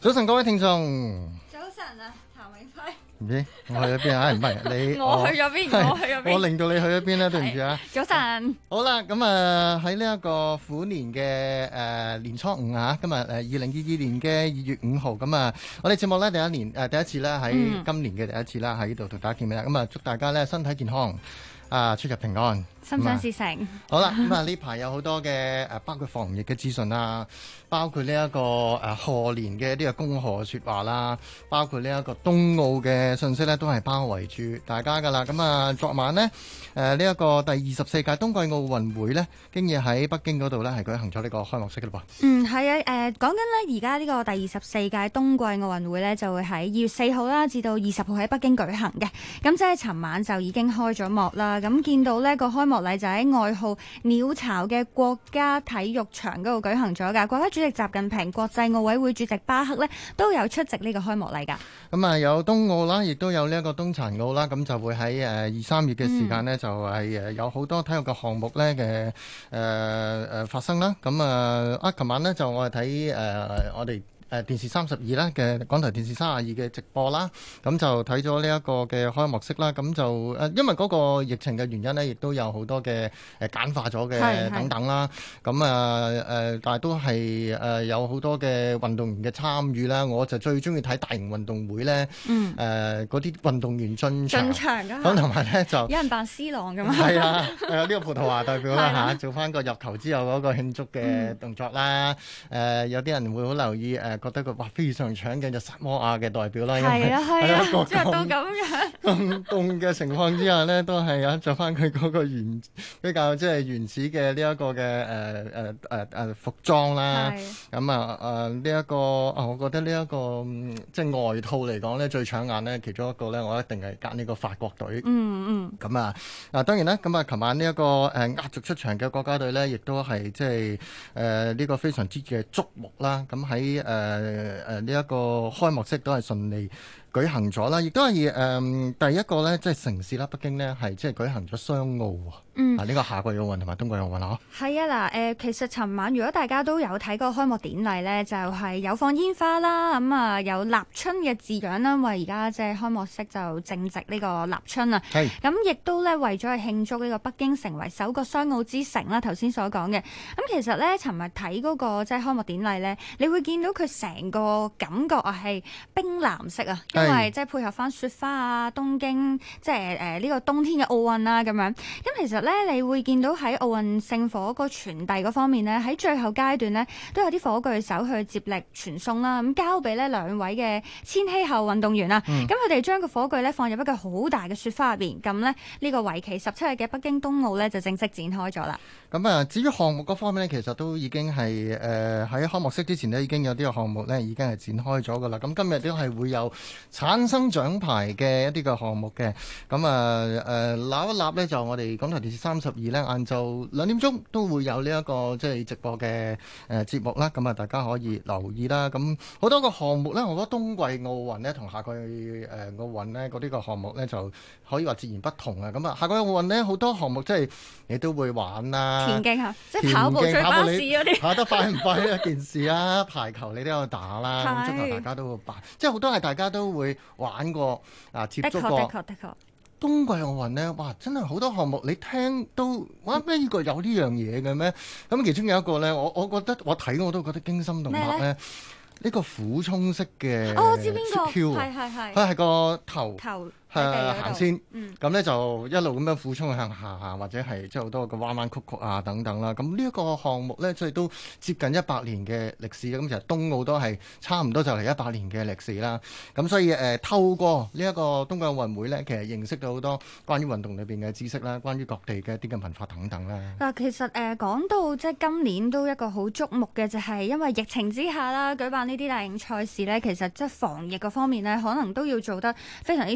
早晨，各位聽眾。 早晨啊，譚永輝。 唔知我去咗邊啊？唔係你， 我去咗邊？我去咗邊？ 我令到你去咗邊咧？對唔住啊！ 早晨。 好啦，咁啊喺呢一個虎年嘅年初五啊，今日2022年嘅2月5號，咁啊，我哋節目咧第一次咧喺今年嘅第一次啦，喺呢度同大家見面啦。咁啊，祝大家咧身體健康，出入平安。 心想事成。 好啦，咁啊呢排有好多嘅包括防疫嘅資訊啦，包括呢一個賀年嘅一啲嘅恭賀説話啦，包括呢一個冬奧嘅信息咧，都係包圍住大家噶啦。咁啊，昨晚呢，呢一個第24屆冬季奧運會呢，經已喺北京嗰度呢，係舉行咗呢個開幕式嘅噃。 係啊，講緊呢，而家呢個第24屆冬季奧運會呢，就會喺2月4號啦，至到20號喺北京舉行嘅。咁即係尋晚就已經開咗幕啦。咁見到呢個開幕禮就喺外號鳥巢嘅國家體育場嗰度舉行咗㗎。國家主席習近平、國際奧委會主席巴克呢，都有出席呢個開幕禮㗎。 咁啊，有冬奧啦，亦都有呢一個冬殘奧啦。咁就會喺2、3月嘅時間呢，就係有好多體育嘅項目呢嘅發生啦。咁琴晚呢，就我哋睇我哋電視32啦嘅港台電視32嘅直播啦，咁就睇咗呢一個嘅開幕式啦。咁就因為嗰個疫情嘅原因呢，亦都有好多嘅簡化咗嘅等等啦。咁但係都係有好多嘅運動員嘅參與啦。我就最中意睇大型運動會呢，嗰啲運動員進場咁，同埋呢就有人扮 C 朗咁啊。 係啊，呢個葡萄牙代表啦嚇，做翻個入球之後嗰個慶祝嘅動作啦。有啲人會好留意覺得佢非常搶鏡就薩摩亞嘅代表啦，因為係啊，着到咁樣咁凍嘅情況之下呢，都係着翻佢嗰個比較即係原始嘅呢一個嘅服裝啦。咁呢一個我覺得呢一個即係外套嚟講呢，最搶眼呢，其中一個呢，我一定係揀呢個法國隊。咁當然啦，咁琴晚呢一個壓軸出場嘅國家隊呢，亦都係即係呢個非常之嘅矚目啦。咁喺呢一個開幕式都係順利舉行咗啦，亦都係第一個呢，即係城市啦，北京呢係即係舉行咗雙奧呢個夏季奧運同埋冬季奧運啊。 係啊，其實尋晚如果大家都有睇過開幕典禮呢，就係有放煙花啦，咁有立春嘅字樣啦，因為而家即係開幕式就正值呢個立春啊。咁亦都呢，為咗去慶祝呢個北京成為首個雙奧之城啦，頭先所講嘅。咁其實呢，尋日睇嗰個即係開幕典禮呢，你會見到佢成個感覺係冰藍色啊，因為即係配合翻雪花啊，東京即係呢個冬天嘅奧運啊咁樣。咁其實呢，你會見到喺奧運聖火個傳遞嗰方面呢，喺最後階段呢，都有啲火炬手去接力傳送啦，咁交俾呢兩位嘅千禧後運動員啊。咁佢哋將個火炬呢放入一個好大嘅雪花入邊，咁呢個為期17日嘅北京冬奧呢，就正式展開咗啦。 咁至於項目嗰方面呢，其實都已經係喺開幕式之前呢，已經有啲個項目呢已經係展開咗噶啦。咁今日都係會有產生獎牌嘅一啲個項目嘅。咁立一立呢，就我哋港台電視32呢，晏晝2點鐘都會有呢一個即係直播嘅節目啦。咁大家可以留意啦。咁好多個項目呢，我覺得冬季奧運呢同夏季奧運呢嗰啲個項目呢，就可以話截然不同啊。咁夏季奧運呢，好多項目即係你都會玩啦。 田徑嚇，即係跑步追巴士嗰啲， 跑得快唔快一件事啊！排球你都有打啦，足球大家都會打，即係好多係大家都會玩過接觸過。的確。冬季奧運呢，哇！真係好多項目，你聽都哇咩？呢個有呢樣嘢嘅咩？咁其中有一個呢，我覺得我睇我都覺得驚心動魄呢。呢個俯衝式嘅我知邊個？ 佢係個頭。行先，咁呢就一路咁樣俯衝向下，或者係即係好多個彎彎曲曲啊等等啦。咁呢一個項目呢，即係都接近100年嘅歷史。咁其實冬奧都係差唔多就嚟100年嘅歷史啦。咁所以透過呢一個冬季奧運會呢，其實認識到好多關於運動裏邊嘅知識啦，關於各地嘅一啲嘅文化等等啦。 嗱，其實講到即係今年都一個好矚目嘅，就係因為疫情之下啦，舉辦呢啲大型賽事呢，其實即係防疫嗰方面呢，可能都要做得非常之充足。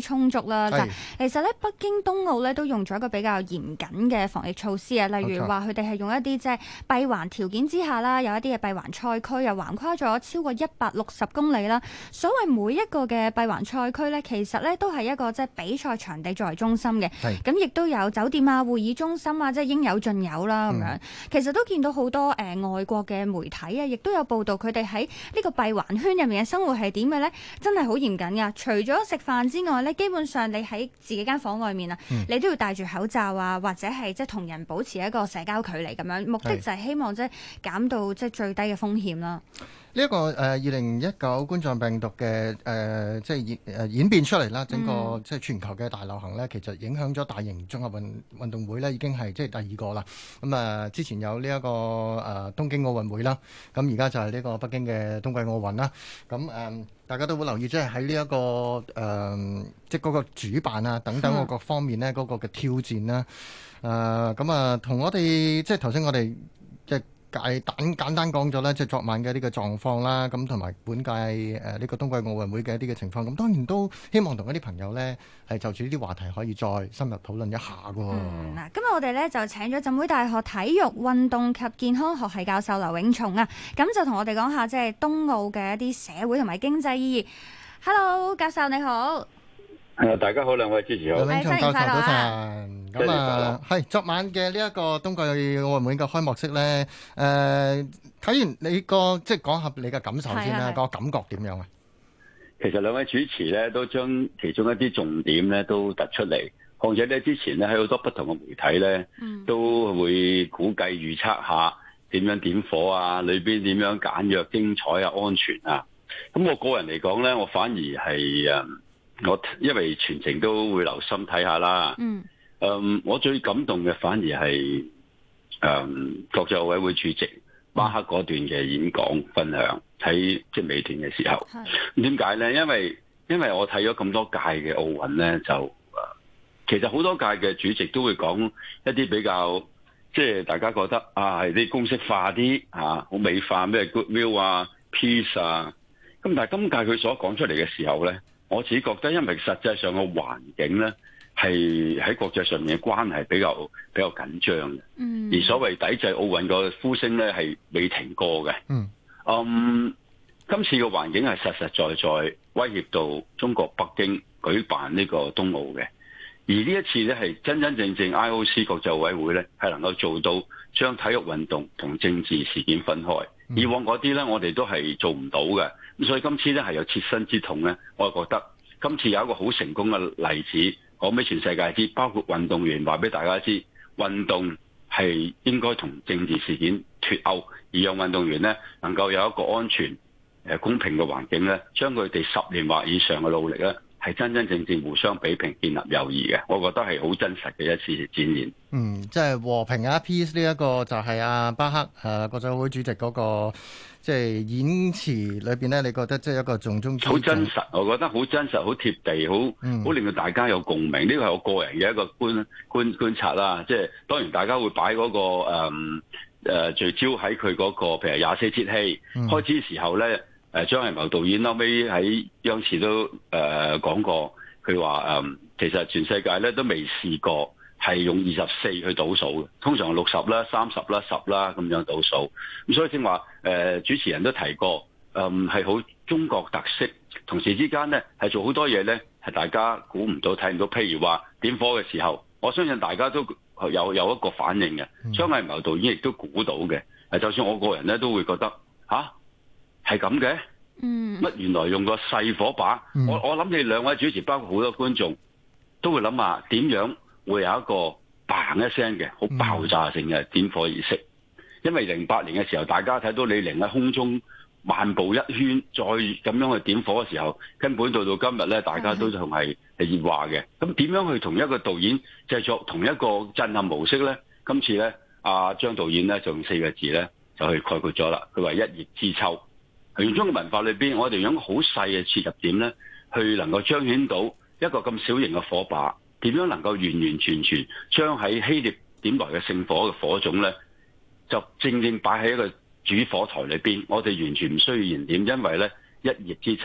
觸啦。就其實咧，北京冬奧咧都用咗一個比較嚴謹嘅防疫措施啊，例如話佢哋係用一啲即係閉環條件之下啦，有一啲嘅閉環賽區又橫跨咗超過160公里啦。所謂每一個嘅閉環賽區咧，其實咧都係一個即係比賽場地作為中心嘅，咁亦都有酒店啊、會議中心啊，即係應有盡有啦咁樣。其實都見到好多外國嘅媒體啊，亦都有報道佢哋喺呢個閉環圈入面嘅生活係點嘅咧，真係好嚴謹噶。除咗食飯之外咧，基本上你喺自己間房外面啊，你都要戴住口罩啊，或者係即係同人保持一個社交距離咁樣。目的就係希望即係減到即係最低嘅風險啦。 呢一個2019冠狀病毒嘅即係演變出嚟啦，整個即係全球嘅大流行咧，其實影響咗大型綜合運動會咧，已經係即係第二個啦。咁之前有呢一個東京奧運會啦，咁而家就係呢個北京嘅冬季奧運啦。咁大家都會留意，即係喺呢一個即係嗰個主辦啊等等各方面呢，嗰個嘅挑戰啦。同我哋即係頭先我哋即係簡單講咗咧，即係昨晚嘅呢個狀況啦，咁同埋本屆呢個冬季奧運會嘅一啲嘅情況，咁當然都希望同一啲朋友呢係就住呢啲話題可以再深入討論一下㗎。 嗱，今日我哋呢就請咗浸會大學體育運動及健康學系教授劉永松啊，咁就同我哋講下即係冬奧嘅一啲社會同埋經濟意義。Hello， 教授你好。 大家好，兩位主持好。 劉永松教授早晨。咁係昨晚嘅呢一個冬季奧運會嘅開幕式咧，睇完你個即係講下你嘅感受先啦，個感覺點樣啊？ 其實兩位主持咧都將其中一啲重點咧都突出嚟，況且咧之前咧喺好多不同嘅媒體咧，都會估計預測下點樣點火啊，裏邊點樣簡約精彩啊，安全啊。咁我個人嚟講咧，我反而係我因為全程都會留心睇下啦。我最感動嘅反而係國際奧委會主席巴克嗰段嘅演講分享，喺即係尾段嘅時候。點解咧？因為我睇咗咁多屆嘅奧運咧，就其實好多屆嘅主席都會講一啲比較即係大家覺得係啲公式化啲好美化咩 goodwill 啊 peace 啊。咁但係今屆佢所講出嚟嘅時候咧，我自己覺得因為實際上個環境咧係喺國際上面嘅關係比較緊張嘅，而所謂抵制奧運個呼聲咧係未停過嘅。今次嘅環境係實實在在威脅到中國北京舉辦呢個冬奧嘅，而呢一次咧係真真正正 IOC 國際奧委會咧係能夠做到將體育運動同政治事件分開。以往嗰啲咧我哋都係做唔到嘅，咁所以今次咧係有切身之痛咧，我覺得今次有一個好成功嘅例子，講俾全世界知，包括運動員話俾大家知，運動係應該同政治事件脫鈎，而讓運動員咧能夠有一個安全、公平嘅環境咧，將佢哋10年或以上嘅努力咧，係真真正正互相比拼，建立友誼嘅。我覺得係好真實嘅一次展現。 即係和平啊 peace 呢一個就係巴克國際奧委會主席嗰個即係演詞裏邊咧，你覺得即係一個重中之重？好真實，我覺得好真實，好貼地，好令到大家有共鳴。呢個係我個人嘅一個觀察啦。即係當然大家會擺嗰個聚焦喺佢嗰個譬如24節氣開始時候咧。張藝謀導演後尾喺央視都講過，佢話其實全世界咧都未試過係用24去倒數嘅，通常60啦、30啦、10啦咁樣倒數。咁所以正話主持人都提過，係好中國特色，同時之間咧係做好多嘢咧係大家估唔到、睇唔到。譬如話點火嘅時候，我相信大家都有一個反應嘅。張藝謀導演亦都估到嘅。就算我個人咧都會覺得係咁嘅，乜原來用個細火把？我諗你兩位主持，包括好多觀眾，都會諗下點樣會有一個嘭一聲嘅好爆炸性嘅點火儀式。因為08年嘅時候，大家睇到李寧喺空中漫步一圈，再咁樣去點火嘅時候，根本到今日咧，大家都仲係熱話嘅。咁點樣去同一個導演製作同一個震撼模式咧？今次咧，張導演咧就用4個字咧就去概括咗啦。佢話一葉知秋。原中嘅文化裏邊，我哋用好細嘅切入點咧，去能夠彰顯到一個咁小型嘅火把，點樣能夠完完全全將喺希臘點來嘅聖火嘅火種咧，就正正擺喺一個主火台裏邊。我哋完全唔需要燃點，因為咧一葉知秋，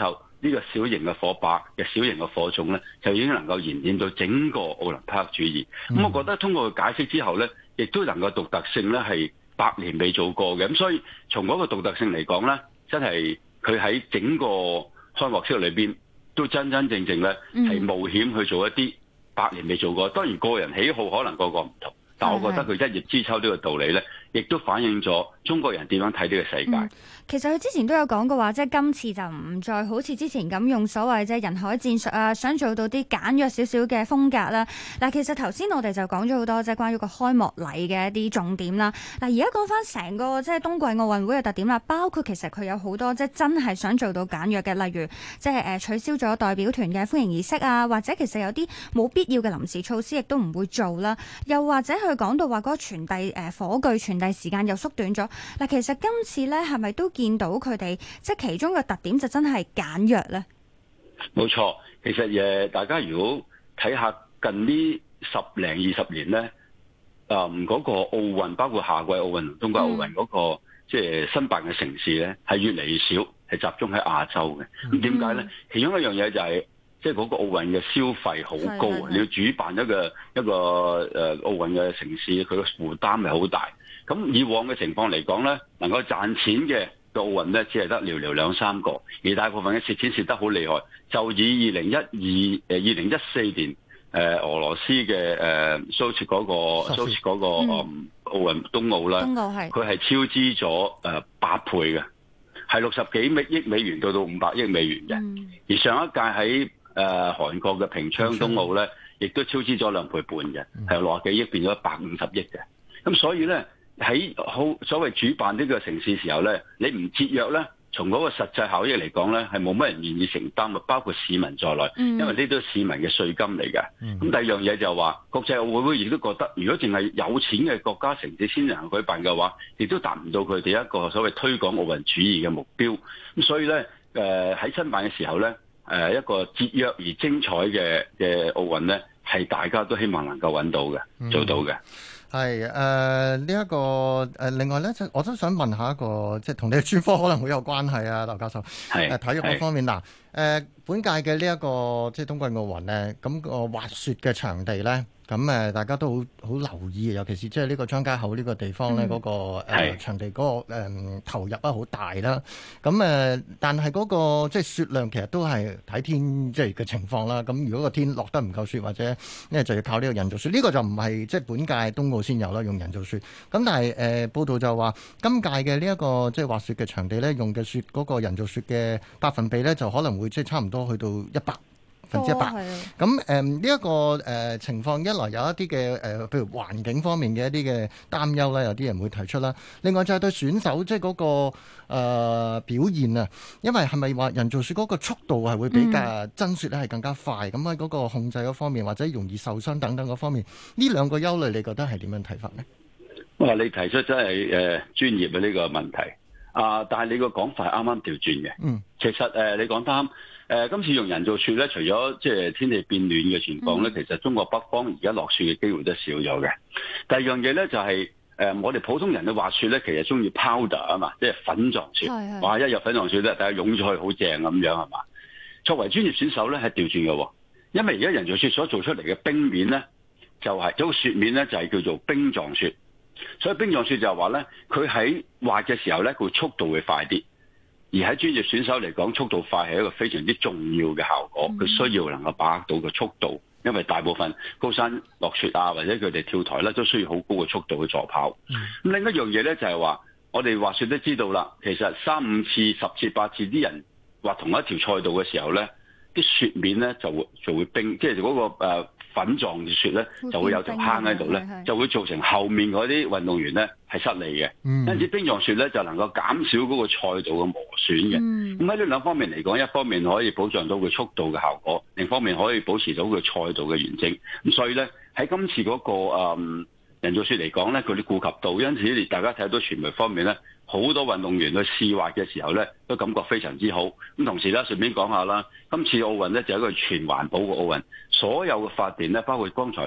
呢個小型嘅火把嘅小型嘅火種咧，就已經能夠延展到整個奧林匹克主義。咁我覺得通過佢解釋之後咧，亦都能夠獨特性咧係百年未做過嘅。咁所以從嗰個獨特性嚟講咧，真係佢喺整個開幕式裏邊都真真正正咧係冒險去做一啲百年未做過。當然個人喜好可能個個唔同。但我覺得佢一葉知秋呢個道理咧，亦都反映咗中國人點樣睇呢個世界。 其實佢之前都有講過話，即係今次就唔再好似之前咁用所謂即係人海戰術啊，想做到啲簡約少少嘅風格啦。嗱，其實頭先我哋就講咗好多即係關於個開幕禮嘅一啲重點啦。嗱，而家講翻成個即係冬季奧運會嘅特點啦，包括其實佢有好多即係真係想做到簡約嘅，例如即係取消咗代表團嘅歡迎儀式啊，或者其實有啲冇必要嘅臨時措施亦都唔會做啦。又或者佢講到話嗰個傳遞火炬傳遞時間又縮短咗。嗱，其實今次咧係咪都見到佢哋即係其中嘅特點就真係簡約咧？冇錯，其實大家如果睇下近呢10零20年咧，嗰個奧運包括夏季奧運同冬季奧運嗰個即係申辦嘅城市咧，係越嚟越少，係集中喺亞洲嘅。咁點解咧？其中一樣嘢就係即係嗰個奧運嘅消費好高啊！你要主辦一個奧運嘅城市，佢嘅負擔係好大。咁以往嘅情況嚟講咧，能夠賺錢嘅奧運咧，只係得寥寥2-3個，而大部分嘅蝕錢蝕得好厲害。就以2014年俄羅斯嘅蘇切嗰個奧運冬奧啦，佢係超支咗8倍嘅，係60幾億美元到500億美元嘅。而上一屆喺韓國嘅平昌冬奧咧，亦都超支咗2倍半嘅，係由60幾億變咗150億嘅。咁所以咧，喺所謂主辦呢個城市時候咧，你唔節約咧，從嗰個實際效益嚟講咧，係冇乜人願意承擔嘅，包括市民在內，因為呢都係市民嘅稅金嚟嘅。咁第二樣嘢就係話，國際奧委會亦都覺得，如果淨係有錢嘅國家城市先能舉辦嘅話，亦都達唔到佢哋一個所謂推廣奧運主義嘅目標。咁所以咧，喺申辦嘅時候咧，一個節約而精彩嘅奧運咧，係大家都希望能夠揾到嘅，做到嘅。 係呢一個另外咧，我都想問下一個，即係同你嘅專科可能會有關係啊，劉教授。係體育嗰方面嗱，本屆嘅呢一個即係冬季奧運咧，咁個滑雪嘅場地咧，咁大家都好留意，尤其是即係呢個張家口呢個地方咧，嗰個場地嗰個投入好大啦。咁但係嗰個即係雪量其實都係睇天即係嘅情況啦。咁如果個天落得唔夠雪，或者咧就要靠呢個人造雪，呢個就唔係即係本屆冬奧先有啦，用人造雪。咁但係報道就話今屆嘅呢一個即係滑雪嘅場地咧，用嘅雪嗰個人造雪嘅百分比咧，就可能會即係差唔多去到100%。咁呢一個情況，一來有一啲嘅譬如環境方面嘅一啲嘅擔憂啦，有啲人會提出啦。另外就係對選手即係嗰個表現啊，因為係咪話人造雪嗰個速度係會比較真雪咧係更加快？咁喺嗰個控制嗰方面，或者容易受傷等等嗰方面，呢兩個憂慮，你覺得係點樣睇法呢？ 哇！你提出真係專業嘅呢個問題但係你個講法係啱啱調轉嘅。其實你講啱。今次用人造雪咧，除咗即係天氣變暖嘅情況咧，其實中國北方而家落雪嘅機會都少咗嘅。第二樣嘢咧就係我哋普通人嘅滑雪咧，其實中意 powder 啊嘛，即係粉狀雪。哇！一入粉狀雪咧，大家湧咗去好正咁樣係嘛？作為專業選手咧，係調轉嘅，因為而家人造雪所做出嚟嘅冰面咧，就係嗰個雪面咧，就係叫做冰狀雪。所以冰狀雪就係話咧，佢喺滑嘅時候咧，佢速度會快啲。而喺專業選手嚟講，速度快係一個非常之重要嘅效果。佢需要能夠把握到個速度，因為大部分高山落雪啊，或者佢哋跳台咧，都需要好高嘅速度去助跑。咁另一樣嘢咧就係話，我哋滑雪都知道啦，其實3、5次、10次、8次啲人滑同一條賽道嘅時候咧，啲雪面咧就會冰，即係嗰個粉狀嘅雪咧就會有條坑喺度咧，就會造成後面嗰啲運動員咧係失利嘅。因此冰狀雪咧就能夠減少嗰個賽道嘅磨損嘅。咁喺呢兩方面嚟講，一方面可以保障到佢速度嘅效果，另一方面可以保持到佢賽道嘅完整。咁所以咧喺今次嗰個人造雪嚟講咧，佢哋顧及到，因此大家睇到傳媒方面咧，好多運動員去試滑嘅時候咧，都感覺非常之好。咁同時咧，順便講下啦，今次奧運咧就係一個全環保嘅奧運，所有嘅發電咧，包括剛才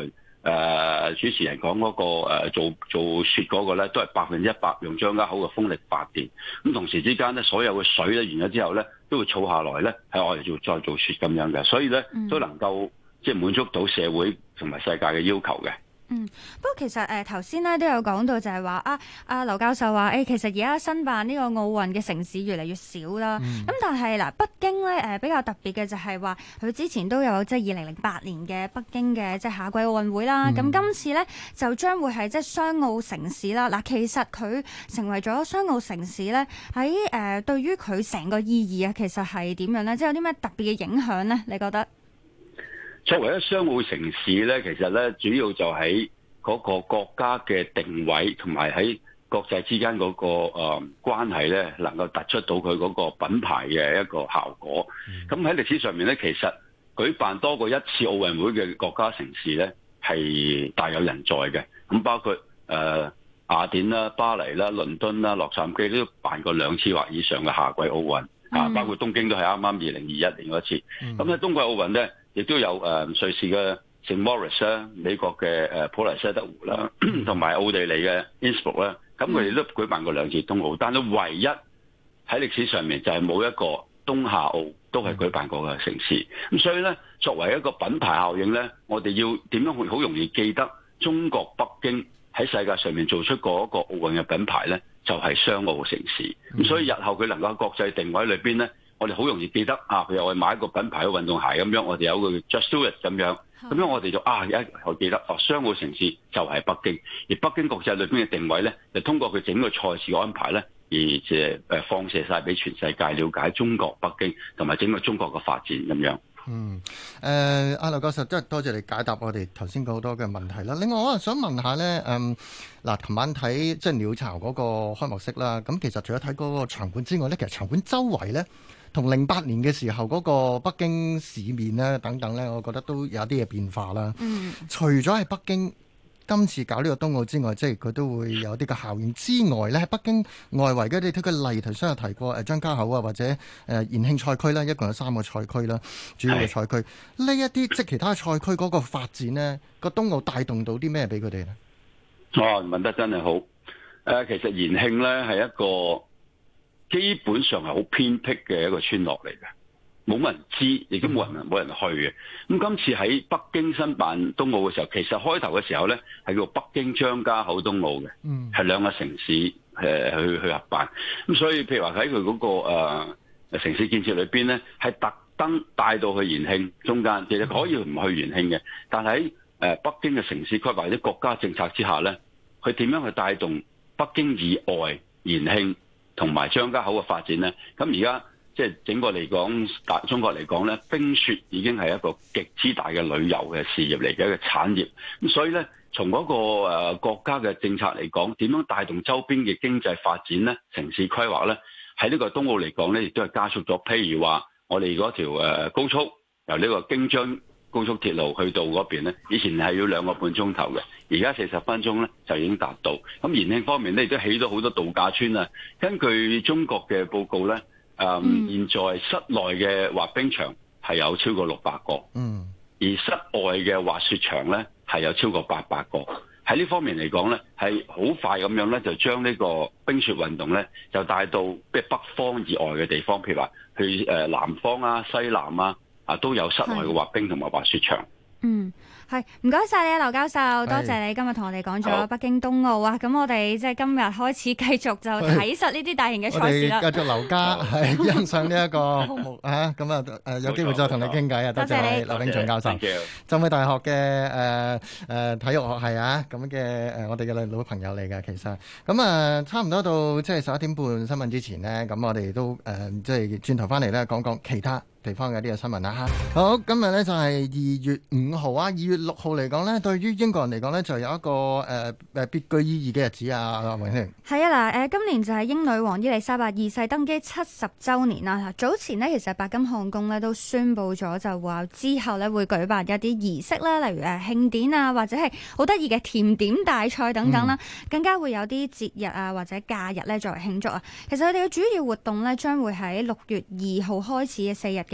主持人講嗰個做雪嗰個咧，都係100%用張家口嘅風力發電。咁同時之間咧，所有嘅水咧完咗之後咧，都會儲下來咧，係我哋再做雪咁樣嘅。所以咧都能夠即係滿足到社會同埋世界嘅要求嘅。 不過其實頭先咧都有講到就係話劉教授話其實而家申辦呢個奧運嘅城市越嚟越少啦。咁但係嗱，北京咧比較特別嘅就係話佢之前都有即係2008年嘅北京嘅即係夏季奧運會啦。咁今次咧就將會係即係雙奧城市啦。嗱，其實佢成為咗雙奧城市咧，喺對於佢成個意義啊，其實係點樣咧？即係有啲咩特別嘅影響咧？你覺得？ 作為一雙奧城市咧，其實咧主要就喺嗰個國家嘅定位同埋喺國際之間嗰個關係咧，能夠突出到佢嗰個品牌嘅一個效果。咁喺歷史上面咧，其實舉辦多過一次奧運會嘅國家城市咧，係大有人在嘅。咁包括雅典啦、巴黎啦、倫敦啦、洛杉磯都辦過2次或以上嘅夏季奧運。包括東京都係啱啱2021年嗰次。咁喺冬季奧運咧，亦都有瑞士嘅聖莫里斯啦、美國嘅普萊斯特湖啦，同埋奧地利嘅 Innsbruck 啦，咁佢哋都舉辦過2次冬奧，但係唯一喺歷史上面就係冇一個冬夏奧都係舉辦過嘅城市。咁所以咧，作為一個品牌效應咧，我哋要點樣去好容易記得中國北京喺世界上面做出嗰個奧運嘅品牌咧，就係雙奧城市。咁所以日後佢能夠喺國際定位裏邊咧，我哋好容易記得譬如我哋買一個品牌嘅運動鞋咁樣，我哋有個 Just Do It 咁樣，咁樣我哋就我記得雙奧城市就係北京，而北京國際裏邊嘅定位咧，就通過佢整個賽事嘅安排咧，而即係放射晒俾全世界了解中國北京同埋整個中國嘅發展咁樣。 阿劉教授真係多謝你解答我哋頭先好多嘅問題啦。另外，我想問下咧，琴晚睇即係鳥巢嗰個開幕式啦。咁其實除咗睇嗰個場館之外咧，其實場館周圍咧，同08年嘅時候嗰個北京市面咧等等咧，我覺得都有啲嘅變化啦。除咗係北京今次搞呢個冬奧之外，即係佢都會有啲嘅效應之外咧，喺北京外圍嘅，你睇佢例頭先有提過張家口啊，或者延慶賽區啦，一共有3個賽區啦，主要嘅賽區。呢一啲即係其他賽區嗰個發展呢，個冬奧帶動到啲咩俾佢哋呢？ 問得真係好。其實延慶咧係一個基本上係好偏僻嘅一個村落嚟嘅。冇乜人知，亦都冇人去嘅。咁今次喺北京申辦冬奧嘅時候，其實開頭嘅時候咧係叫北京張家口冬奧嘅，係2個城市去合辦。咁所以譬如話喺佢嗰個城市建設裏邊咧，係特登帶到去延慶中間，其實可以唔去延慶嘅。但係喺北京嘅城市規劃或者國家政策之下咧，佢點樣去帶動北京以外延慶同埋張家口嘅發展咧？咁而家即係整個嚟講，中國嚟講咧，冰雪已經係一個極之大嘅旅遊嘅事業嚟嘅一個產業。咁所以咧，從嗰個國家嘅政策嚟講，點樣帶動周邊嘅經濟發展咧？城市規劃咧，喺呢個冬奧嚟講咧，亦都係加速咗。譬如話，我哋嗰條高速由呢個京張高速鐵路去到嗰邊咧，以前係要2個半鐘頭嘅，而家40分鐘咧就已經達到。咁延慶方面咧，亦都起咗好多度假村啊。根據中國嘅報告咧，現在室內嘅滑冰場係有超過600個，而室外嘅滑雪場咧係有超過800個。喺呢方面嚟講咧，係好快咁樣咧，就將呢個冰雪運動咧，就帶到即係北方以外嘅地方，譬如話去南方啊、西南啊，都有室內嘅滑冰同埋滑雪場。 係，唔該晒你啊，劉教授，多謝你今日同我哋講咗北京冬奧啊！咁我哋即係今日開始繼續就睇實呢啲大型嘅賽事啦。我哋繼續留家係欣賞呢一個項目咁有機會再同你傾偈啊！多謝你，劉炳松教授，浸會大學嘅體育學系咁嘅我哋嘅老朋友嚟嘅，其實咁差唔多到即係11點半新聞之前呢，咁我哋都即係轉頭翻嚟咧講講其他地方嘅呢個新聞啦。好，今日呢就係2月5號啊，2月6號嚟講呢，對於英國人嚟講呢，就有一個別具意義嘅日子啊，榮興。係啊，嗱，今年就係英女王伊麗莎白二世登基70週年啦。早前呢，其實白金漢宮呢都宣布咗，就話之後呢會舉辦一啲儀式啦，例如慶典啊，或者係好得意嘅甜點大賽等等啦，更加會有啲節日啊或者假日呢作為慶祝啊。其實佢哋嘅主要活動呢，將會喺6月2號開始嘅4日嘅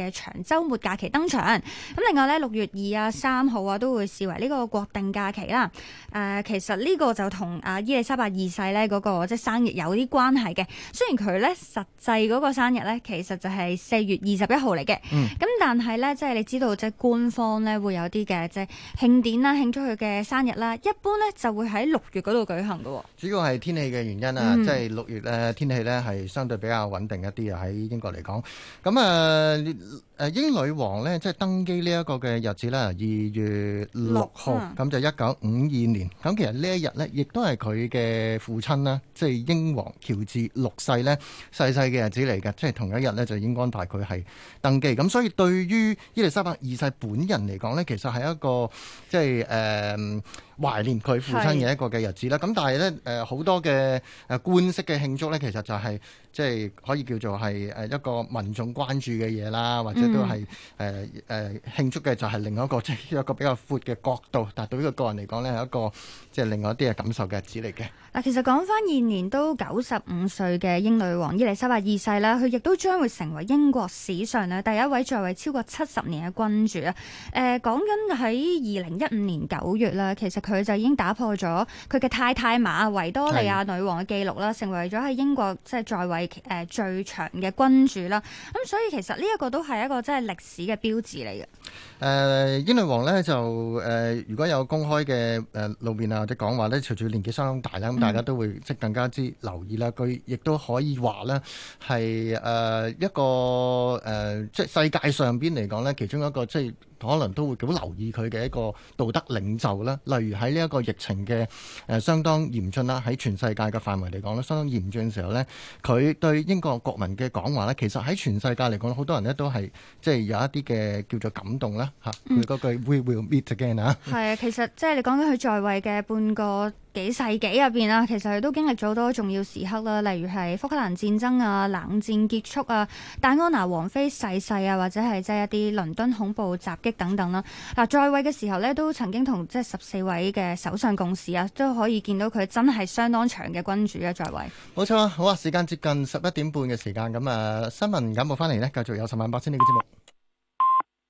嘅長週末假期登場。咁另外咧，6月2啊、3號啊都會視為呢個國定假期啦。其實呢個就同伊麗莎白二世咧嗰個即係生日有啲關係嘅。雖然佢咧實際嗰個生日咧其實就係4月21號嚟嘅。咁但係咧即係你知道即係官方咧會有啲嘅即係慶典啦，慶祝佢嘅生日啦，一般咧就會喺6月嗰度舉行嘅。主要係天氣嘅原因啊，即係6月咧天氣咧係相對比較穩定一啲啊，喺英國嚟講。咁英女王咧即係登基呢一個嘅日子咧2月6號，咁就1952年。咁其實呢一日咧亦都係佢嘅父親啦，即係英皇喬治6世咧逝世嘅日子嚟嘅，即係同一日咧就已經安排佢係登基。咁所以對於伊麗莎白二世本人嚟講咧，其實係一個即係懷念佢父親嘅一個嘅日子啦。咁但係咧好多嘅官式嘅慶祝咧，其實就係即係可以叫做係一個民眾關注嘅嘢啦，或者都係慶祝嘅就係另一個即係一個比較闊嘅角度。但係對於佢個人嚟講咧，係一個即係另外一啲嘅感受嘅日子嚟嘅。 嗱，其實講翻現年都95歲嘅英女王伊麗莎白二世啦，佢亦都將會成為英國史上咧第一位在位超過70年嘅君主啊。講緊喺2015年9月啦，其實佢就已經打破咗佢嘅太太瑪維多利亞女王嘅記錄啦，成為咗喺英國即係在位最長嘅君主啦。咁所以其實呢一個都係一個即係歷史嘅標誌嚟嘅。 英女王呢，就如果有公開嘅露面啊或者講話呢，隨住年紀相當大啦，咁大家都會即係更加之留意啦。佢亦都可以話呢係一個即係世界上邊嚟講呢，其中一個即係可能都會好留意佢嘅一個道德領袖啦。例如喺呢一個疫情嘅相當嚴峻啦，喺全世界嘅範圍嚟講呢，相當嚴峻嘅時候呢，佢對英國國民嘅講話呢，其實喺全世界嚟講，好多人呢都係即係有一啲嘅叫做感動啦嚇。佢嗰句 We will meet again 啊。係啊， 其實即係你講緊佢在位嘅半個幾世紀入邊啊，其實佢都經歷咗好多重要時刻啦，例如係福克蘭戰爭啊、冷戰結束啊、戴安娜王妃逝世啊，或者係即係一啲倫敦恐怖襲擊等等啦。嗱，在位嘅時候呢，都曾經同即係14位嘅首相共事啊，都可以見到佢真係相當長嘅君主嘅在位。 冇錯啊，好啊，時間接近11點半嘅時間，咁新聞簡報翻嚟呢，繼續有10萬8千里嘅節目。